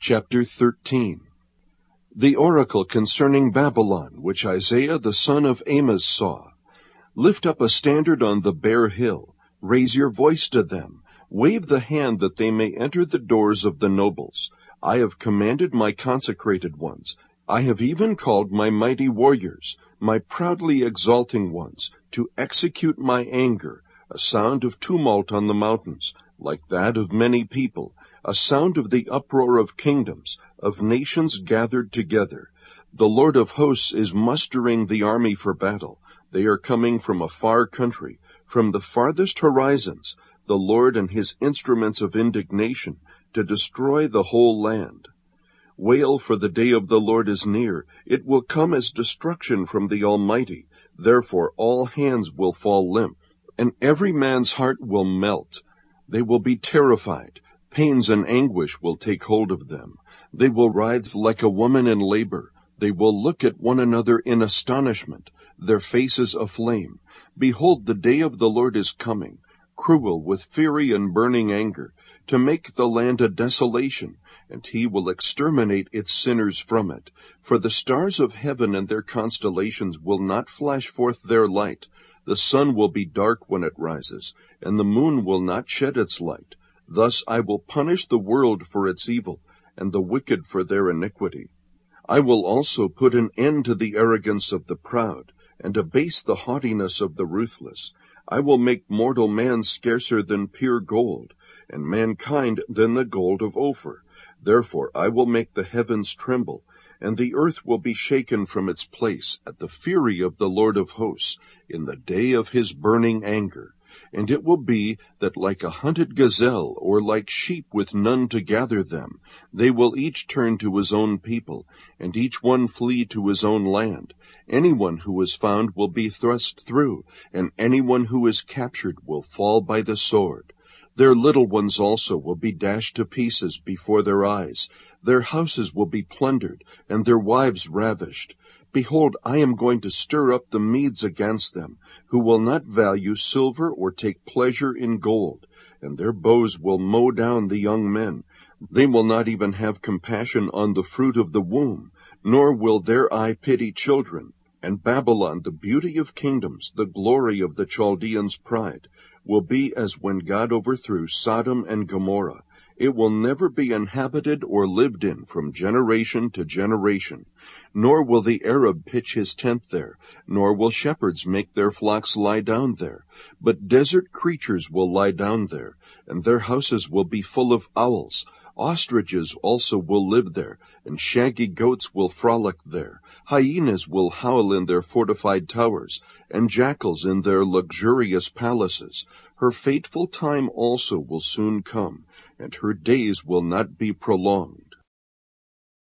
Chapter 13. The oracle concerning Babylon, which Isaiah the son of Amoz saw. Lift up a standard on the bare hill. Raise your voice to them. Wave the hand that they may enter the doors of the nobles. I have commanded my consecrated ones. I have even called my mighty warriors, my proudly exulting ones, to execute my anger, a sound of tumult on the mountains, like that of many people, a sound of the uproar of kingdoms, of nations gathered together. The Lord of hosts is mustering the army for battle. They are coming from a far country, from the farthest horizons, the Lord and his instruments of indignation, to destroy the whole land. Wail, for the day of the Lord is near. It will come as destruction from the Almighty. Therefore all hands will fall limp, and every man's heart will melt. They will be terrified. Pains and anguish will take hold of them. They will writhe like a woman in labor. They will look at one another in astonishment, their faces aflame. Behold, the day of the Lord is coming, cruel with fury and burning anger, to make the land a desolation, and he will exterminate its sinners from it. For the stars of heaven and their constellations will not flash forth their light. The sun will be dark when it rises, and the moon will not shed its light. Thus I will punish the world for its evil, and the wicked for their iniquity. I will also put an end to the arrogance of the proud, and abase the haughtiness of the ruthless. I will make mortal man scarcer than pure gold, and mankind than the gold of Ophir. Therefore I will make the heavens tremble, and the earth will be shaken from its place at the fury of the Lord of hosts, in the day of his burning anger. And it will be that like a hunted gazelle, or like sheep with none to gather them, they will each turn to his own people, and each one flee to his own land. Anyone who is found will be thrust through, and anyone who is captured will fall by the sword. Their little ones also will be dashed to pieces before their eyes. Their houses will be plundered, and their wives ravished. Behold, I am going to stir up the Medes against them, who will not value silver or take pleasure in gold, and their bows will mow down the young men. They will not even have compassion on the fruit of the womb, nor will their eye pity children. And Babylon, the beauty of kingdoms, the glory of the Chaldeans' pride, will be as when God overthrew Sodom and Gomorrah. It will never be inhabited or lived in from generation to generation. Nor will the Arab pitch his tent there, nor will shepherds make their flocks lie down there. But desert creatures will lie down there, and their houses will be full of owls. Ostriches also will live there, and shaggy goats will frolic there. Hyenas will howl in their fortified towers, and jackals in their luxurious palaces. Her fateful time also will soon come, and her days will not be prolonged.